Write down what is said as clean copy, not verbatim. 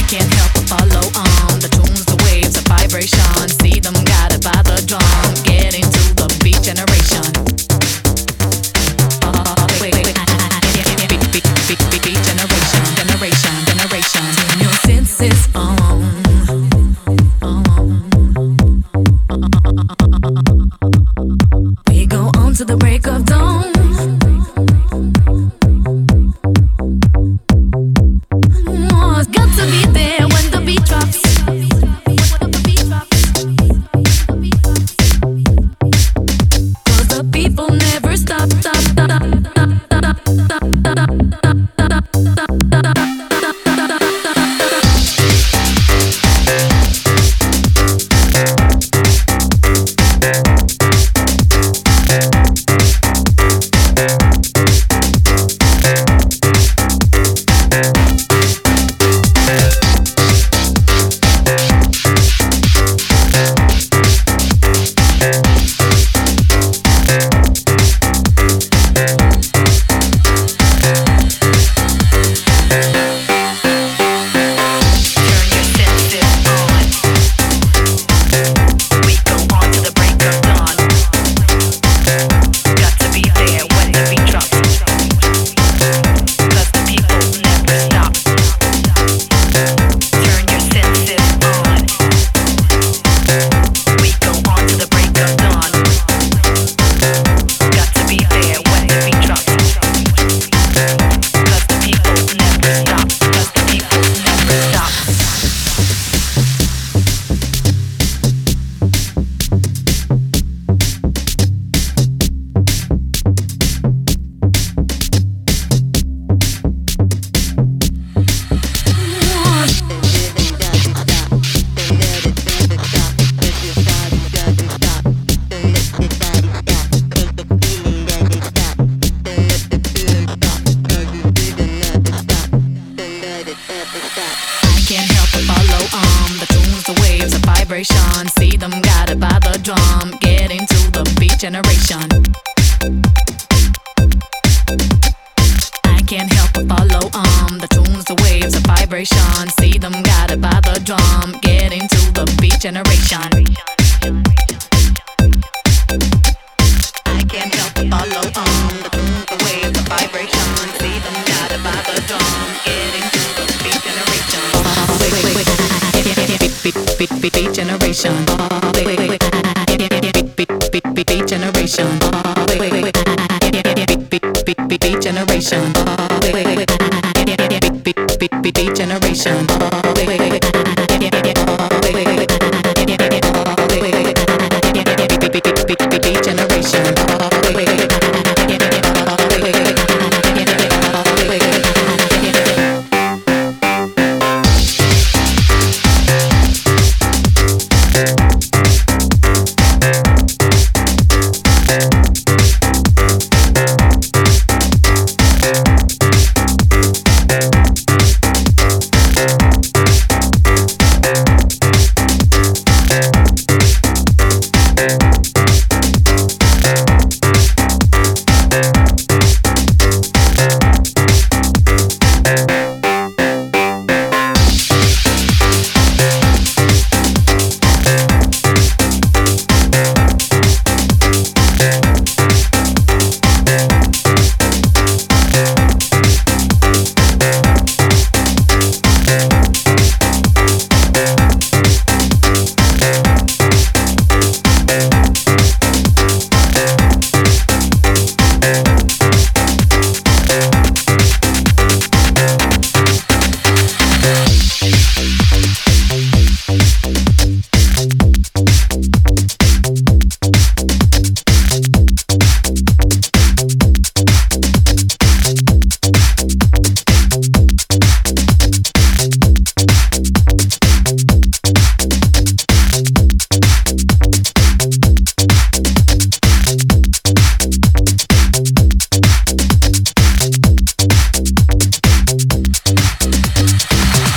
can't help but follow on the tunes, the waves, the vibration. See them guided by the drum, get into the beat generation. Beat generation, generation. Turn your senses on. We go on to the break of dawn. It's got to be there when the beat drops. Cause the people never stop. See them guided by the drum, get into the beat generation. I can't help but follow the tunes, the waves, the vibration. See them guided by the drum, get into the beat generation. I can't help but follow the tunes, the waves, the vibration. See them guided by the drum, get into the beat generation. Beat generation. Beat generation. Beat generation. Beat generation.